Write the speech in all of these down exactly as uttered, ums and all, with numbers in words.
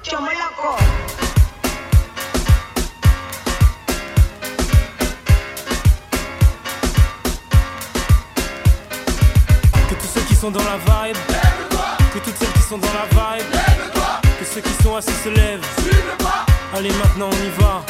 Chomo loco. Que tous ceux qui sont dans la vibe, que toutes celles qui sont dans la vibe, que ceux qui sont assis se lèvent. Allez, maintenant on y va.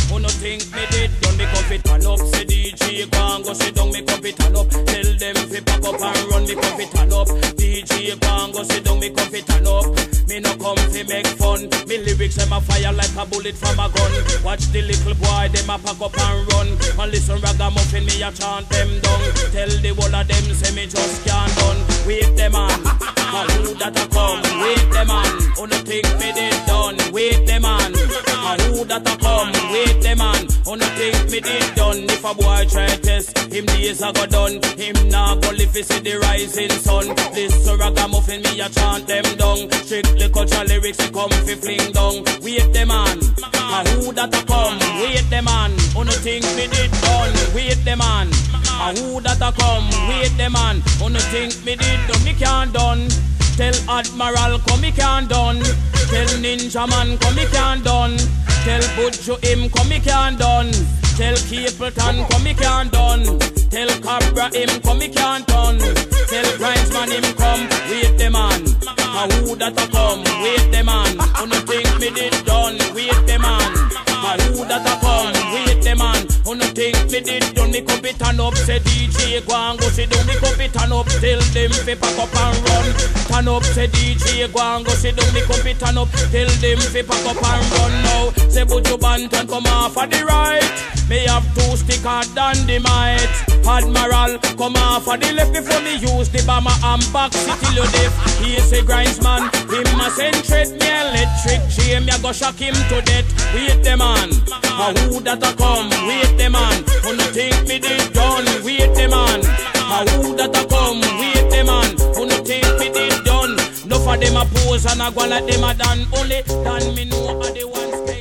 Who that a come? Wait the man. Who no think me did done? Wait the man. Who no think me did done? Me cup it and up, say D J go and go sit down, me cup it and up. Tell them fi pack up and run, me come fit turn up. D J Kwan go sit down, me come fit turn up. Me no come fi make fun. Me lyrics them a fire like a bullet from a gun. Watch the little boy them a pack up and run. And listen ragamuffin me a chant them down. Tell the whole of them say me just can't done. Wait them on, and who that a come? Wait them on, who no think me did done? Wait them on, and who that a come? Wait them on, who no think me did done? If a boy try test, him days a go done. Him nah go live fi see the rising sun. Listen ragamuffin me a chant them down. Strictly culture lyrics we come fi fling down. Wait them on, and who that a come? Wait them on, who no think me did done? Wait them on, and who that a come? Wait them on, who no think me did done? Me can't done. Tell Admiral come me can't done. Tell Ninja Man come me can't done. Tell Butcho him come me can't done. Tell Capleton come me can't done. Tell Cabra him come me can't done. Tell Grindsman him come. Wait them on, and who that a come? Wait them on, who no think me did done? Wait them on, and who that a come? Wait them on, who no think me did done? Me come fit turn up, say D J go and go sit down. Me come fit turn up, tell them fi pack up and run. Turn up, say D J go and go sit down. Me come fit turn up, tell them fi pack up and run now. Say Buju Banton come off of the right. Me have two sticker than the might. Admiral come off of the left before me use the bomber and back city you deaf. He say Grindsman, him a send tread me electric chain. Me a go shock him to death. Wait them on, and who that a come? Wait them on, who no think me did done? Wait them on, and who that a come? Wait them on, who no think me did done? No for them a pose and a go like them a done. Only done me know are the ones spend.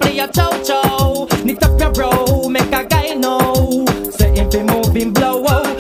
Knit up your brow, make a guy know. Say if he moving blow out.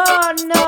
Oh no.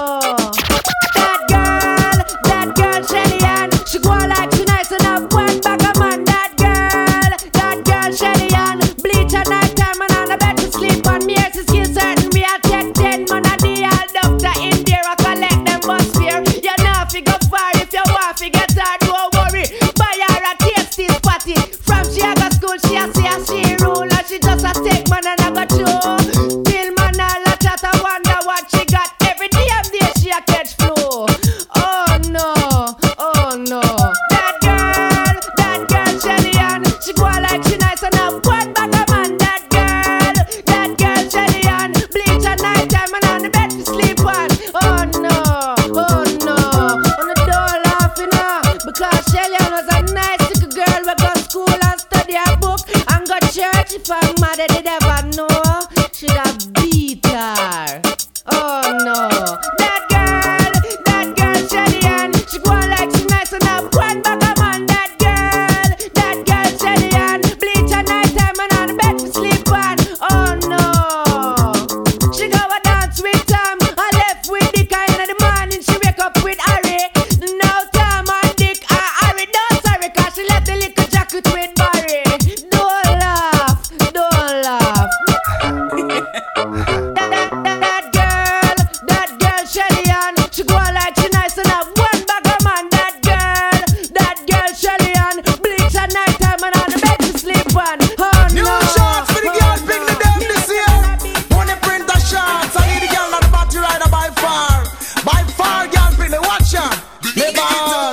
That girl, that girl Shelly Ann, she go like she nice enough. One bag of man. That girl, that girl Shelly Ann, bleach at night time and on the bed to sleep on me. Yes, it's still certain we are ten ten man a day. All doctor in there, I collect them bus fare. You know if you go far, if you want to get her, don't worry. Buy her a tasty spotty. From she a go school, she a see a she rule, and she just a take man and a go through. Till man all a chat and wonder what she got. Every damn day she a catch flu. Oh no, oh no. That girl, that girl Shelly Ann, she go like she nice enough. One bag of man. That girl, that girl Shelly Ann, bleach at night time and on the bed to sleep on. Oh no, oh no. On the door laughing now because Shelly Ann was a nice little girl. We go school and study her book and go church. If her mother did ever know, she'd have beat her. Oh no. That girl, that girl Shelly Ann, she go like she nice enough. One bag of man. That girl, that girl Shelly Ann, bleach at night time and on the bed to sleep on. Oh no. She go a dance with Tom, I left with Dick, and in the morning she wake up with Harry. Now Tom and Dick are Harry. Don't sorry, cause she left the little jacket with Barry. Don't laugh, don't laugh. that, that, that, that girl, that girl Shelly Ann, she go like she nice enough. One bag of man. That girl, that girl Shelly Ann, bleach at night time and on the bed to sleep on. Oh New no. shots for the girls, pick the them this year. Money printer shots, I need the girl not the battery rider by far. By far, girl, pick the watcher. The ball.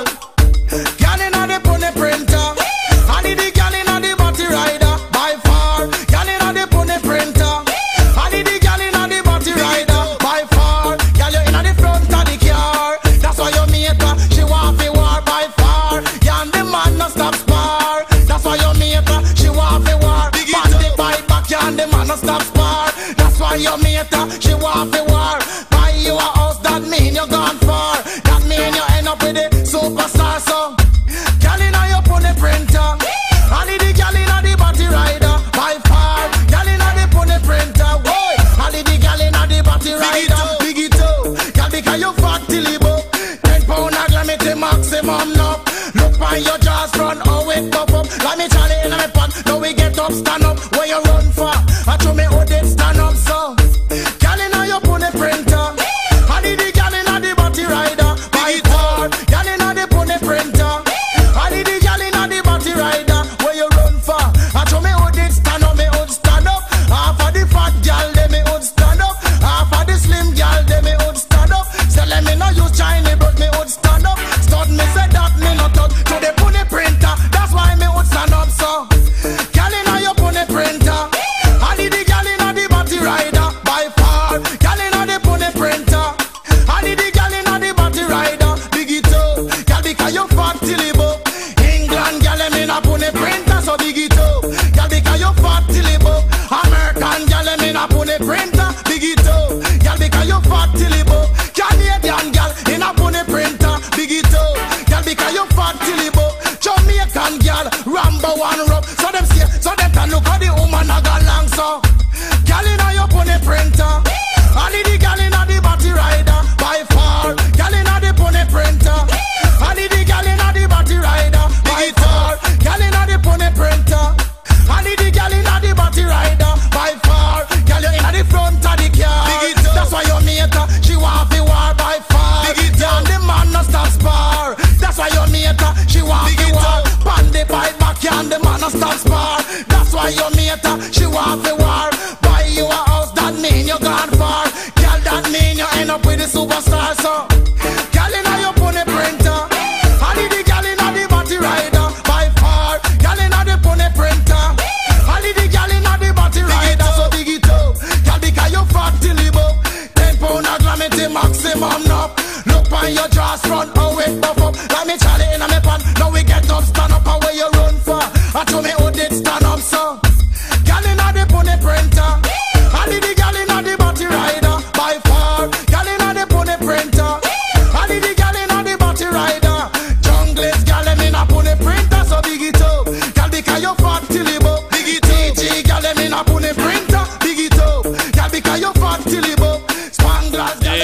Girl in the pony printer. I need the girl in the battery rider by far. Girl in the pony printer. I need the girl in the battery rider by far. Girl, you in the front of the car. That's why you meet her. She want to war by far. Yeah, and the man no stop spar. That's why you meet her. She want to war. Man the bite back, yeah, and the man no stop spar. That's why you meet her. She want to war. Buy you a house, that mean you gone far. That mean you end up with a superstar. So, girl in your pony printer. I need the girl in the battery rider by far. Girl in the pony printer. Whoa, I need the girl in the battery rider. Big it up, girl, because you fat till you book. Ten pound a gram it the maximum now. Look on your jaws front, oh it pop up. Like me Charlie in my pot. Now we get up, stand up. Where you run for? I told me oh they stand up so. Girl in your pony printer. I need the girl in the battery rider by far. Girl in the pony printer. I need the girl in the battery rider. Where you run for? I told me oh they stand up, me would stand up. Half of the fat girl, they me would stand up. Half of the slim girl, they me would stand up. So let me know use Chinese, but me would stand up. Stud me say that me not touch to the pony printer. That's why me would stand up so. Girl in your pony printer. I need the girl in the battery rider by far. Girl in the pony printer. I need the girl in the battery rider. Big it up, girl because you fat till you book. England girl them in a pony printer, so big it up. Girl because you fat till you book. American girl them in a pony printer, big it up. Girl because you fat till you book. Canadian girl in a pony printer, big it up. Girl because you fat till you book. Jamaican girl, Rambo one rub. So them see, so them can look how the woman a go long so. Girl in a your pony printer. I need the girl in a the battery rider by far. Girl in a the pony printer. I need the girl in a the battery rider by far. Girl in a the pony printer. I need the girl in a the battery rider by far. Girl you in a the front of the car. That's why you meet her. She want to war by far. Yeah, and the man no stop spar. That's why you meet her. She want to war. Pan the pipe back, yeah, and the man no stop spar. That's why you meet her. She want to war. Buy you a house, that mean you gone far. Girl, that mean you end up with the superstar. So, girl in your pony printer. I need the girl in the battery rider by far. Girl in the pony printer. I need the girl in the battery rider. So big it up, girl, because you fat till you book. Ten pound a gram it the maximum now. Look on your jaws front, oh it puff up. Like me Charlie in my pan. Now we get up, stand up, and where you run for? I told me who did stand up so. Girl in the pony printer. I need the girl in the battery rider by far. Girl in the pony printer. I need the girl in the battery rider. Junglist girl them in a pony printer, so big it up. Girl because you fat till you book. Big it up. T G girl them in a pony printer, big it up. Girl because you fat till you book. Spanglers girl.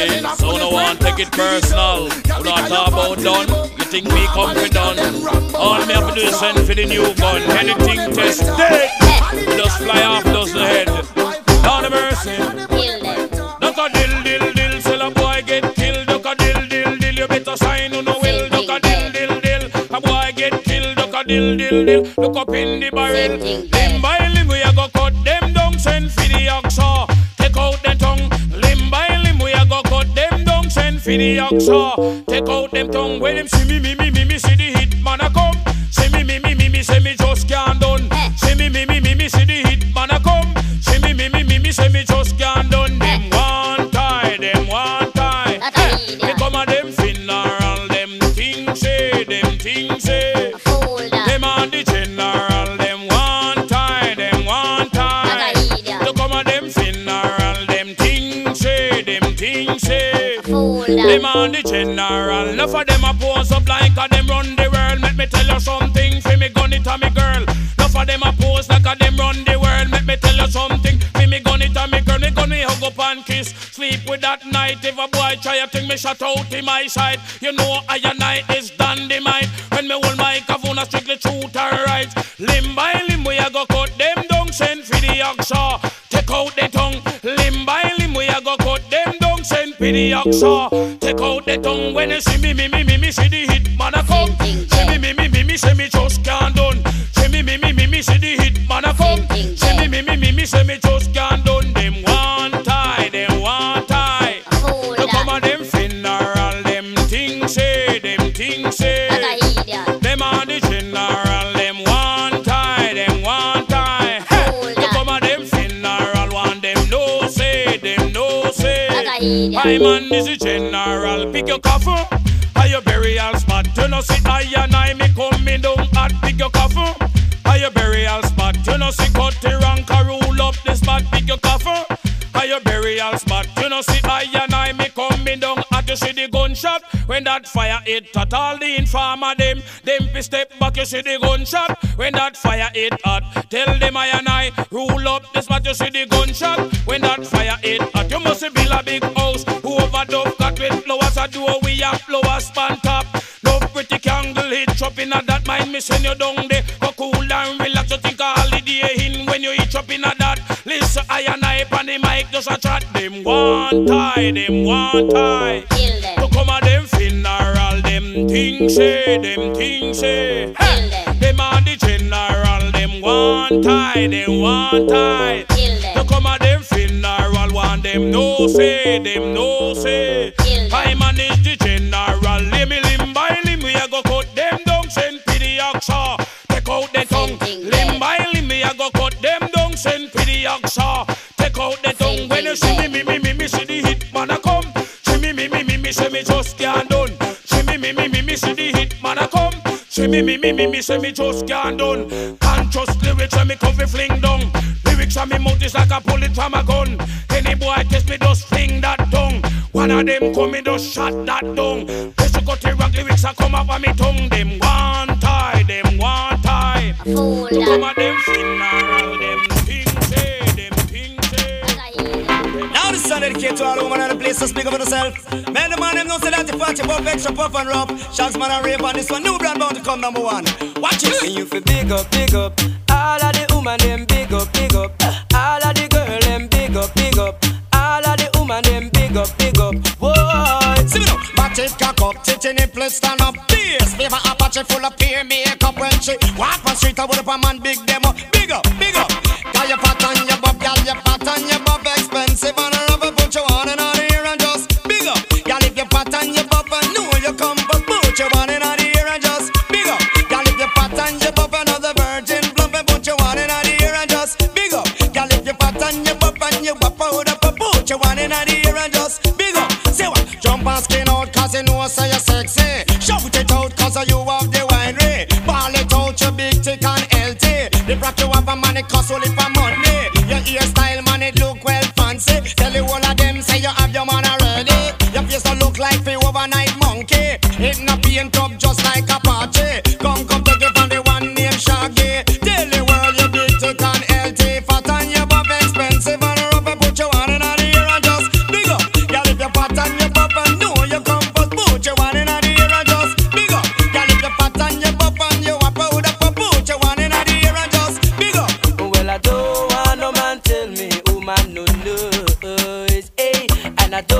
Hey, so no one take it personal. You not talk about done. You think me come for done? All me have to do is send for the new gun. Anything test dead. We just fly off, does the head. Down the mercy. Duck a dill, dill, dill. Sell a boy get killed. Duck a dill, dill, dill. You better sign on the will. Duck a dill, dill, dill. A boy get killed. Duck a dill, dill, dill. Look up in the barrel. Limb by limb we a go cut them down. Send for the oxa. Take out the tongue. Limb by limb we a go cut them down. Send for the oxa. Take out them tongue. When them see me, me, me, me, me, see the hit man a come. See me, me, me, me, me, say me just can't done. See me, me, me, me, me, see the hit man a come. See me, me, me, me, me, say me just can't done. Them one tie, them one tie. They come a them funeral, them things say, them things say. Them on the general, them one tie, them one tie. They come a them funeral, them things say, them things say. Them on the general, enough of them a pose up like a them run the world. Let me tell you something, fi me gun it a me girl. Enough of them a pose like a them run the world. Let me tell you something, fi me gun it a me girl. Me gun me hug up and kiss, sleep with that night. If a boy try a thing, me shut out in my side. You know I and I is dynamite. When me hold my cavoon, a strictly truth and right. Limb by limb we a go cut them down. Send for the oxa, take out the tongue. Limb by limb we a go cut them down. Send for the oxa, take out the tongue. When you see me, me, me, me, me, see the hit man a come. See me, me, me, me, me, say me just can't done. See me, me, me, me, me, see the hit man a come. See me, me, me, me, me, say me just can't done. Them one tie, them one tie. You come on them funeral, them things say, them things say. Them on the general, them one tie, them one tie. You come on them funeral, one them no say, them no say. My man is a general, pick your coffin. Are your burial spot? You know see I and I me coming down at pick your coffin. Are your burial spot? You know see cut the rank and rule up the spot, pick your coffin. Are your burial spot? You know see I and I me coming down at you see the gunshot. When that fire hit at all the informer them, them be step back you see the gunshot. When that fire hit at, tell them I and I rule up the spot you see the gunshot. When that fire hit at, you must build a big house. Who overdub got with flowers a door we have flowers span top. No pretty candle hitch up in a that mind me send you down there. Go cool and relax you think a holiday in when you hitch up in a that. Listen I and I on the mic just a chat. Them one tie, them one tie. To come a them funeral, them things say, them things say. Hey. Them on the general, them one tie, them one tie. To come a them funeral, one them no say, them no say. I manage the general, let me limb by limb, we a go cut them down, send for the oxa. Take out the tongue, limb by limb, we a go cut them down, send for the oxa. Take out the tongue, when you see me, me, me, me, me, see the hit man a come. See me, me, me, me, me, say me just can't done. See me, me, me, me, me, see the hit man a come. See me, me, me, me, me, say me just can't done. Can't trust lyrics when me coffee fling down. Lyrics on me mouth is like a bullet from a gun. Any boy test me just fling that tongue. One of them come me just shot that down. Press you cut the rock lyrics a come up on me tongue. Them one tie, them one tie. To come at them funeral, them things say, them things say. Now this song dedicated to all women and the place to speak up for yourself. Man, the man them know say that you party puff extra puff and rough. Shanks man and rave on this one. New brand bound to come number one. Watch it. And you feel big up, big up. All of the woman them big up, big up. All of the girl them big up, big up. All of the woman them big up, big up. Whoa. See me now. Back it, cock up, titty nipple, stand up. Bass, flavor Apache full of peer makeup. When she walk on street, I would have a man big them up. Big up, big up. Got your pat on your bob, got your pat on your bob. Expensive and a rubber, put your on and on here and just big up. Got if your pat on your bob and know you come, but put your on and on here and just big up. Got if your pat on your bob, another virgin plump and put your on and on here and just big up. Got if your pat on your bob and you wap out up, put your on and on here and just big up. Say what? Jump and skin out cause you know so you're sexy. Shout it out cause you have the winery. Ball it out you big thick and healthy. The brought you have a man it cost only for money. Your hairstyle man it look well fancy. Tell you all of them say you have your man already. Your face don't look like the overnight monkey. It not paint up just like a party. Come come take it from the one named Shaggy. Tell the world you big thick and healthy. Fat and your buff expensive and rubber put you on and on here and just big up. Girl if you're fat and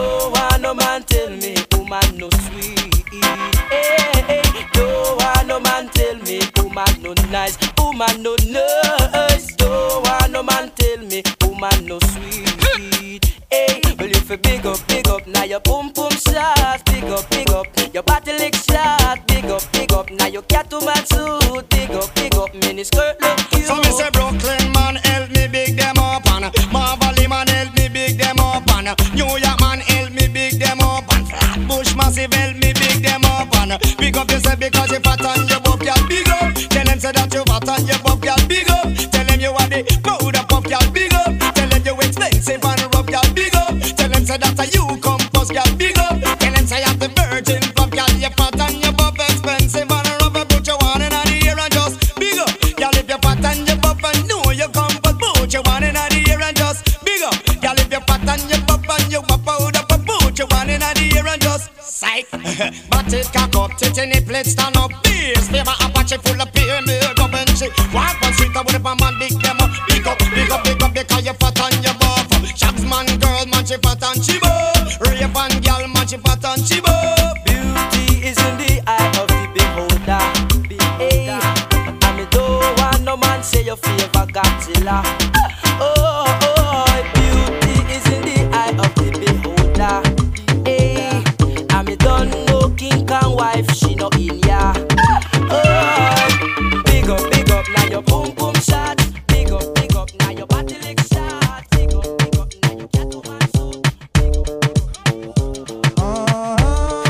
Don't want no man tell me woman no sweet. Hey, hey. Don't want no man tell me woman no nice, woman no nice. Don't want no man tell me woman no sweet. Hey, well if you big up, big up, now your boom boom shot. Big up, big up, your body lick shot. Big up, big up, now your cat to man suit. Big up, big up, mini skirt look cute. So me say Brooklyn man help me big them up and Marvally man help me big them up and New York man help me big them up and Flatbush massive help me big them up and big up yourself because you fat and you buff y'all big up. Tell them say that you fat and you buff y'all big up. Tell them you are the powder puff y'all big up. Tell them you expensive and rough y'all big up. Tell them say that you compost y'all big up. Tell them say you the virgin puff y'all you fat and you buff expensive and rough. Put your one in the ear and just big up. Y'all if you fat and you buff and know you compost. Put your one in the ear and just big up. Y'all if you fat and you buff and you buff powder. Put your one in the ear and just psych. But it cock up, tit in the plate stand up. Beers, favor Apache full of beer, milk up and shit. Walk on street with a man, big them up. Big up, big up, big up, because you fat and you buff. Shags man, girl, man, she fat and she buff. Rave and girl, man, she fat and she buff. Beauty is in the eye of the beholder. Hey, and me don't want no man say your favor Godzilla. Oh, oh, beauty is in the eye of the beholder. Hey, and me don't know King Kong wife, she no in ya. Oh, big up, big up, now your boom boom shot. Big up, big up, now your body lick shot. Big up, big up, now your cat to man suit.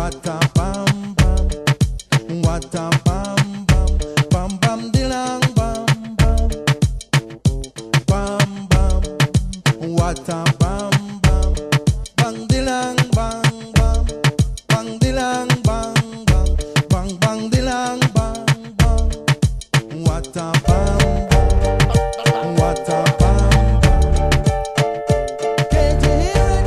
What a bam bam, what a bam bam, bam bam dilang bam bam, bam bam. What a bam bam, bang dilang bang bang, bang dilang bang bang, bang bang dilang bang bang. What a bam bam, what a bam bam. Can't you hear it?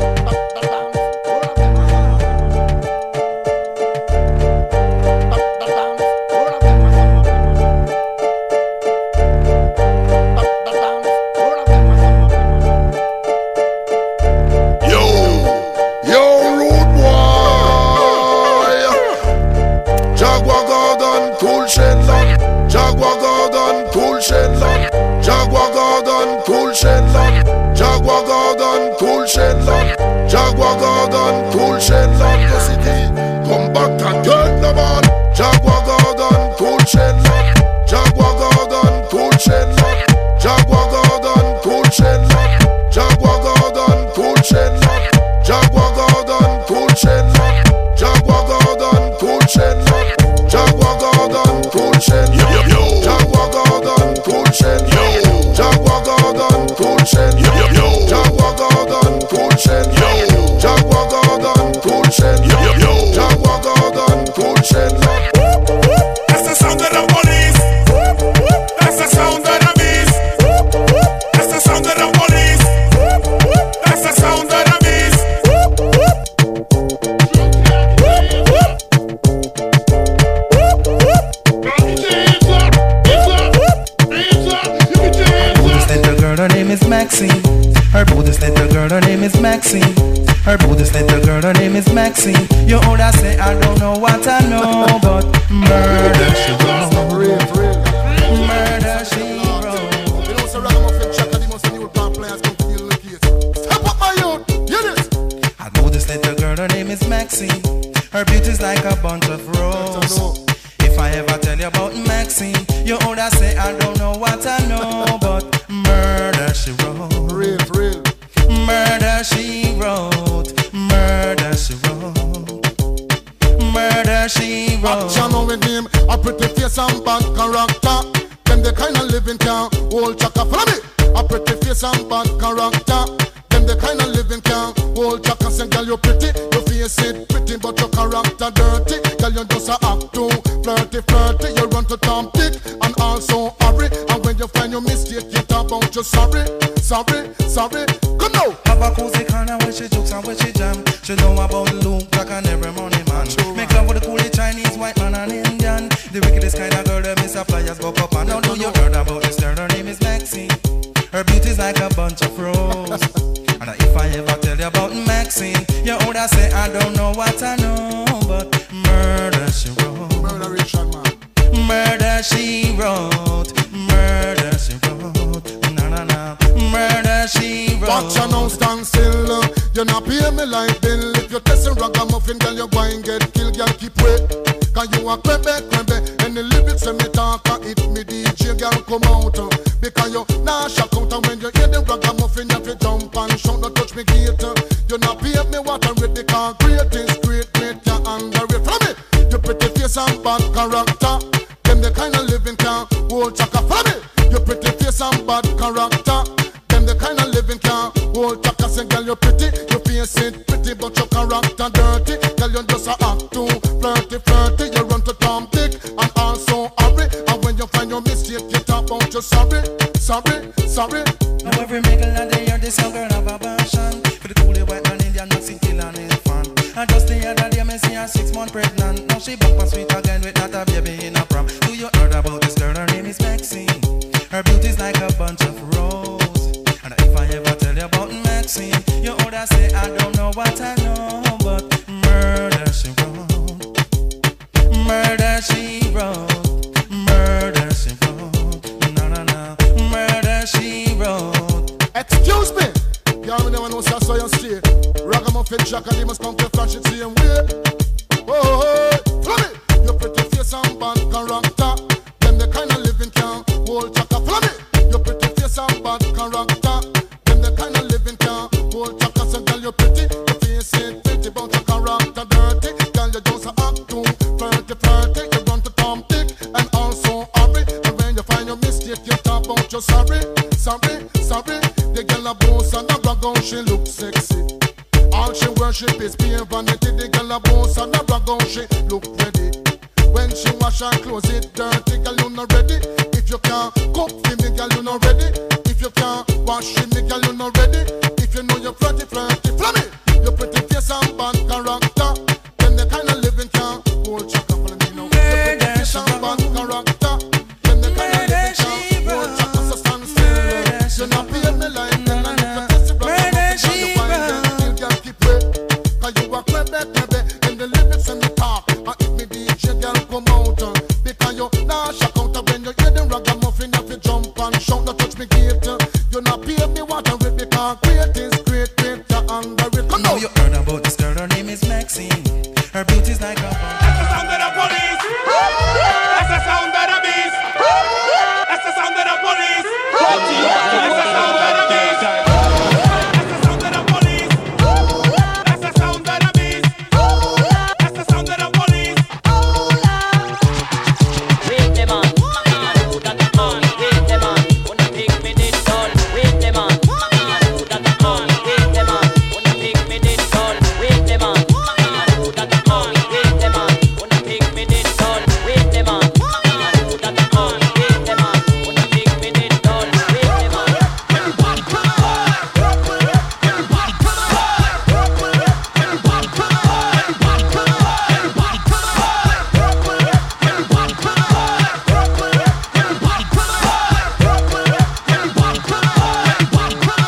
Yo, yo, rude boy. Jaguar Garden, cool Shenlong. Jaguar Garden, cool Shenlong. Jaguar Garden, cool Shenlong. Jaguar Garden, cool Shenlong. Jaguar Garden, cool Shenlong. The city, come back and get the man. Jaguar Garden, cool Shenlong. Jaguar Garden, cool Shenlong. Jaguar Garden, cool Shenlong. Jaguar Garden, cool Shenlong. Jaguar Garden, cool Shenlong. Jaguar Garden, cool Shenlong. Jaguar Garden, cool Shenlong. Jaguar Garden, cool Shenlong. Jaguar Garden, cool Shenlong. Jaguar Garden, cool Shenlong. Jaguar Garden, cool Shenlong. Jaguar Garden, cool Shenlong. That's the sound of the police. That's the sound of the beast. That's the sound of the police. That's the sound of the beast. Buddhist little girl, her name is Maxine. Her Buddhist little girl, her name is Maxine. Her Buddhist little girl, her name is Maxine. You older say I don't know what I know, but murder she wrote. Murder she wrote. You know, so Ragamuffin Chuck and the most new black players come to deal with the case. Step up, my youth. Hear this. Her Buddhist little girl, her name is Maxine. Her beauty's like a bunch of roses. If I ever tell you about Maxine, you older say I don't know what I know, but murder she wrote. Real, real. Murder she wrote. Murder she wrote. Murder she wrote. Action with him, a pretty face and bad character. Them the kind of living can hold chaka. Follow me. A pretty face and bad character. Them the kind of living can hold chaka. Say, girl, you pretty, your face it pretty, but your character dirty. Girl, you just a act too flirty, flirty. You run to Tom Dick and also hurry. And when you find your mistake, you talk about you sorry, sorry, sorry. Come now. Have a cozy corner where she jokes and where she jam. She know about Luke Black and every money man. Make love with the coolie Chinese, white man and Indian. The wickedest kind of girl that miss a flyers go up and now do you heard about this girl? Her name is Maxine. Her beauty's like a bunch of roses. And if I ever tell you about Maxine, you older say I don't know what I know, but murder she wrote. Murder Richard, man. Murder she wrote. Murder she wrote. Na na na. Murder she wrote. Watch you now stand still. You not pay me like bill. If you testing ragamuffin, girl, you go and get killed. Girl, keep wait. Cause you a crebe, crebe. And the lyrics when me talk, it me D J, girl, come out. Because you nah shock out. And when you hear the ragamuffin, you have to jump and shout. Don't touch me gate. You not pay me what I read. Because great is great, great, you underrate. Follow me. You pretty face and bad character. Them the kind of living can hold chaka. Follow me. You pretty face and bad character. Them the kind of living can hold chaka. Say, girl, you pretty, you face it pretty, but your character dirty. Girl, you just a act too flirty, flirty. You run to Tom Dick and also hurry. And when you find your mistake, you talk about you sorry, sorry, sorry. Now every middle of the year, this young girl have a passion for the coolie white man Indian, Mexican, kill and his fan. And just the other day, me see her six months pregnant. Now she back and sweet again with not a baby in a prom. Do you heard about this girl? Her name is Maxine. Her beauty's like a bunch of roses. And if I ever tell you about Maxine, you older say I don't know what I know, but murder she wrote. Murder she wrote. Murder she wrote. No no no. Murder she wrote. Excuse me. Y'all never know, so I saw you straight. Ragamuffin Jack and he must come to flash it same way. Oh, oh, oh. Follow me. Your pretty face and bad character. Them the kind of living can hold chaka. Follow me. Your pretty face and bad character. Them the kind of living can hold chaka. So girl, you're pretty. Your face a brag on she look ready. When she wash her clothes it dirty, girl you not ready. If you can't cook for me, girl you not ready. If you can't wash for me, girl you not ready. If you know you're flirty, flirty, flummy. Your pretty face and bad character, then the kind of living can't hold chaka. Follow me now. Your pretty face and bad character, then the kind of living can't hold chaka. So stand still. You not pay me like then I need to test it. Murder she wrong. You can't keep it. Cause you a crebe, crebe. In the lyrics and the talk. And if me D J girl come out, uh, because you nah shock out. When you hear them ragamuffin, you fi jump and shout. Don't touch me gate. You not pay me water with because great is great, great. You under it. Come on. You heard about this girl, her name is Maxine. Her beauty's like a bomb. That's the sound of the police. That's the sound of the beast. That's the sound of the police. That's the sound of the beast. That's the sound of the police. That's the sound of the beast. That's the sound of the police. Wait them on, who that the on? Wait them on, wanna pick me this on? Wait them on, who that the on? Wait them on, wanna pick me this on? Wait them on, who that the on? Wait them on, wanna pick me this on? Wait them on, who that the on? Wait them on, wanna pick me this on? Wait them on. Everybody come on. Everybody come on. Everybody come on. Everybody come on. Everybody come on. Everybody come on. Everybody come on. Everybody come on. Everybody come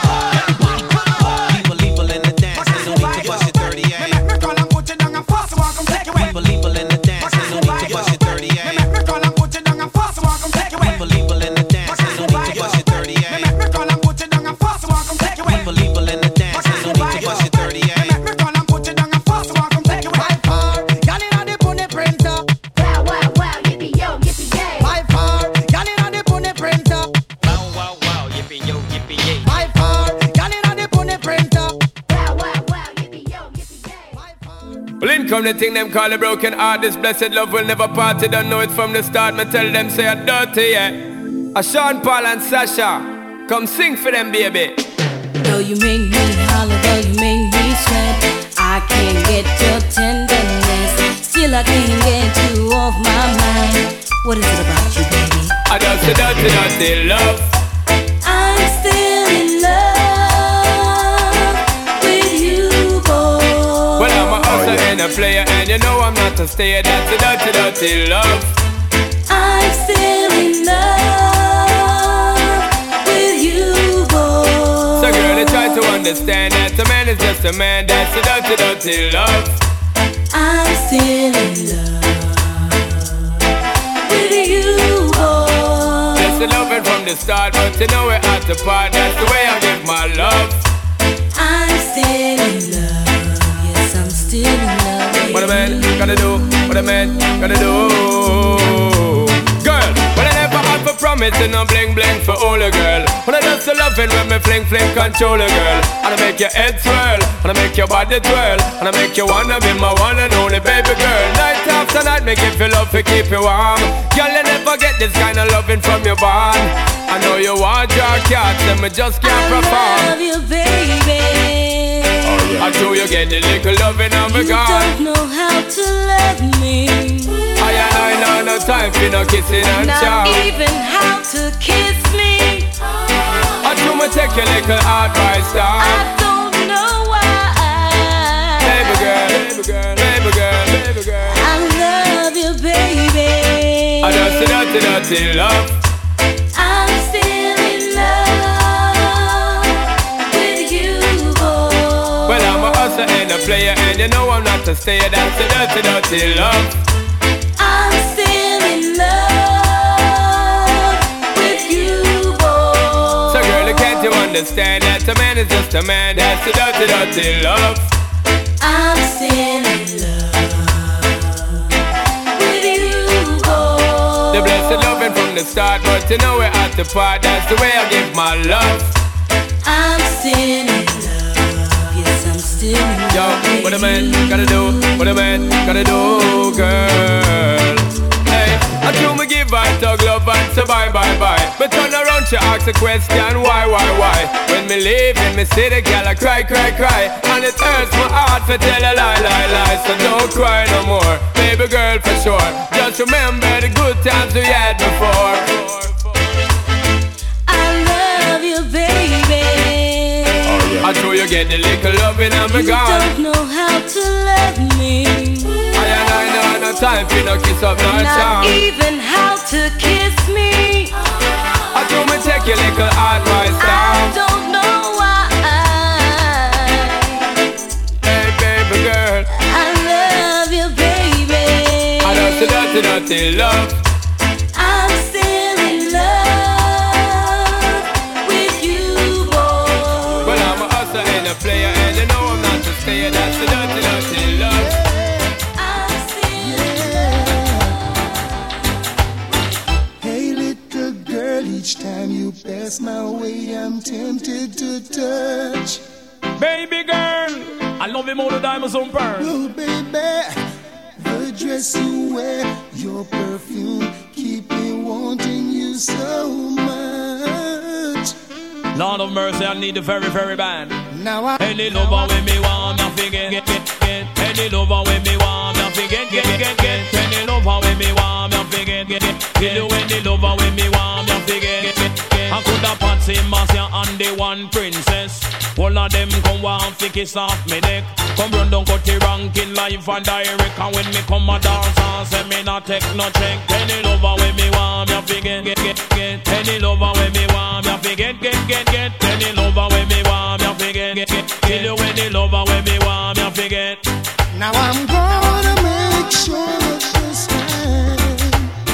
on. People, people in the dance, there's no need to bust your dirty Me ass. make me call and put you down and force you, I come take you away. People, people in the dance, there's no need to bust your dirty Me ass. make me call and put you down and force you, I come take you away. People, people in the dance, there's no need to bust your dirty Me ass. make me call and put you down and force you, I come take you away. People, people in the dance, there's no need to bust your dirty Me ass. make me call and put you down and force you, I come take you away. By far, y'all inna the pony printer. Wow, wow, wow, yippee yo, yippee yay. By far, y'all inna the pony printer. Wow, wow, wow, yippee yo, yippee yay. By far, y'all inna the pony printer. Wow, wow, wow, yippee yo, yippee yay. Well, in come the thing them call a broken heart. This blessed love will never part. They don't know it from the start. Me tell them say I'm dirty, yeah. A Sean Paul and Sasha, come sing for them, baby. Though you make me holler, though you make me sweat, I can't get your tenderness. Still I can't get you off my mind. What is it about you, baby? I just say dirty, dirty love. I'm still in love with you, boy. Well, I'm a hustler and a player, and you know I'm not a stayer. That's a dirty, dirty love. I'm still in love with you, boy. So girl, they try to understand that a man is just a man. That's a dirty, dirty love. I'm still in love with you, boy. That's the loving from the start, but you know we're at the part. That's the way I give my love. I'm still in love. Yes, I'm still in love with What a man you. gotta do, what a man gotta do. Girl, well I never had for promising no bling bling for all a girl. When I just loving when me fling fling control a girl. And I make your head swirl, and I make your body twirl, and I make you wanna be my one and only baby girl. Night after night, me give you love to keep you warm. Girl, you never get this kind of loving from your bond. I know you want your cats, and me just can't I perform. love you, baby. I know you get the little loving of a You God. don't know how to love me. I and I know no time for no kissing and Not chow. even how to kiss me. I do me take your little advice down. I don't know why. Baby girl, baby girl, baby girl, baby girl. I love you, baby. I just dirty, dirty love. I'm still in love with you, boy. Well, I'm a hustler and a player, and you know I'm not a stayer. That's the dirty, dirty love. I'm still in love with you, boy. So girl, can't you understand that a man is just a man? That's the dirty, dirty love. I'm still in love with you, boy. The blessed loving from the start, but you know we're at the part. That's the way I give my love. I'm still in love. Yes, I'm still in love. Yo, with what a man you. gotta do, what a man gotta do, girl. Hey, I I do me give her tug love and say bye bye bye. But turn around she ask a question why why why. When me leave in me see the girl I cry cry cry. And it hurts my heart to tell a lie lie lie. So don't cry no more, baby girl for sure. Just remember the good times we had before. I love you, baby. I know you get the little loving and me You gone. don't know how to love me. I and I know no time for no kiss up no Not charm. even how to kiss me. I do me take your little advice down. I don't know why. Hey baby girl, I love you, baby. I don't see dirty dirty love. I'm still in love with you, boy. Well I'm a hustler and a player and you know I'm not to stay. That's the dirty dirty love. I'm still Hey little girl, each time you pass my way, I'm tempted to touch. Baby girl, I love you more than diamonds on pearl. Oh baby, the dress you wear, your perfume, keep me wanting you so much. Lord of mercy, I need the very, very bad. Now I Any lover with me want me forget, get, get, get. Any lover with me want me forget, get, get, get. Any lover with me want me forget, get, get. Kill you any lover with me want me forget, get, get, get. I could have Patsy, Marcia and the one princess. All of them come want fi kiss off me neck. Come run down cut the ranking live and direct. And when me come a dance and say me not take no check. Any lover with me want me forget, get, get, get. Any lover with me want me forget, get, get, get. Any lover with me want me forget, get, get. Kill you any lover with me want me forget. Now I'm gonna make sure that this time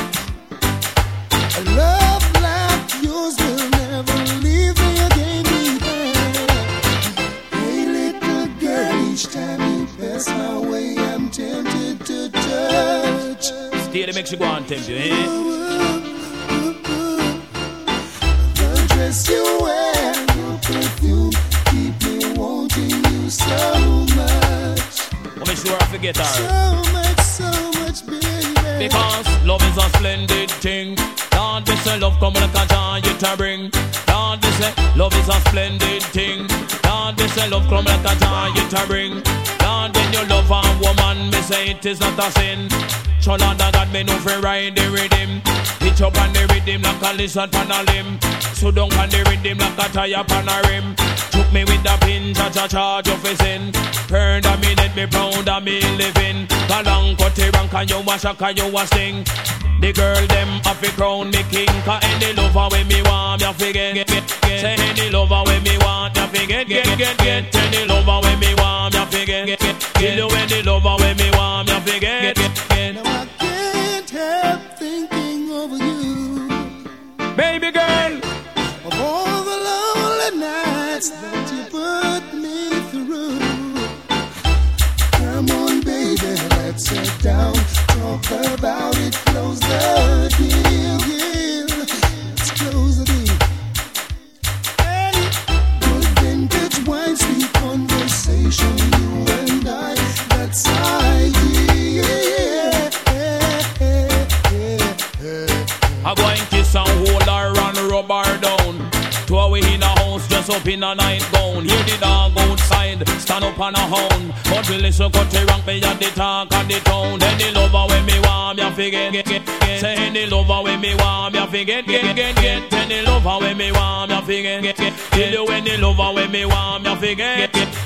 a love like yours will never leave me again behind. Hey little girl, each time you pass my way, I'm tempted to touch. Stay there, make you go and tempt you, eh? The dress you wear, your perfume, keep me wanting you so much. I'll make sure I forget her. So much, so much, baby. Because love is a splendid thing. Lord, we say love come like a joy you to bring. Lord, we say love is a splendid thing. Lord, we say love come like a joy you to bring. Lord, when you love a woman, me say it is not a sin. So Lord, God, me know fi ride the rhythm. Hitch up on the rhythm like a lizard on a limb. So down on the rhythm like a tire on a rim. Took me with the pin, cha-cha charge of his sin. Heard a minute, me proud of me living. Galang cut the rank and you a shock and you a sting. The girl them have to crown me king. Cause any lover when me want me forget, get, get, get. Say any lover when me want me forget, get, get, get. Any lover when me want me forget, get, get. Kill you any lover when me want me forget, get, get. Now I can't help thinking of you, Baby girl, of all the lonely nights that you put me through. Come on, baby, let's sit down, talk about it, close the deal, yeah. Let's close the deal. Hey, good vintage wine, sweet conversation, you and I, that's ideal. I go and kiss and hold her and rub her down. Two away in a house, dress up in a nightgown. Hear the dog outside, stand up on a hound. But we listen cut the rank, me at the talk of the town. Any lover when me want me forget, get, get, get. Say any lover when me want me forget, get, get, get. Any lover when me want me forget, get, get. Kill you any lover when me want me forget, get, get.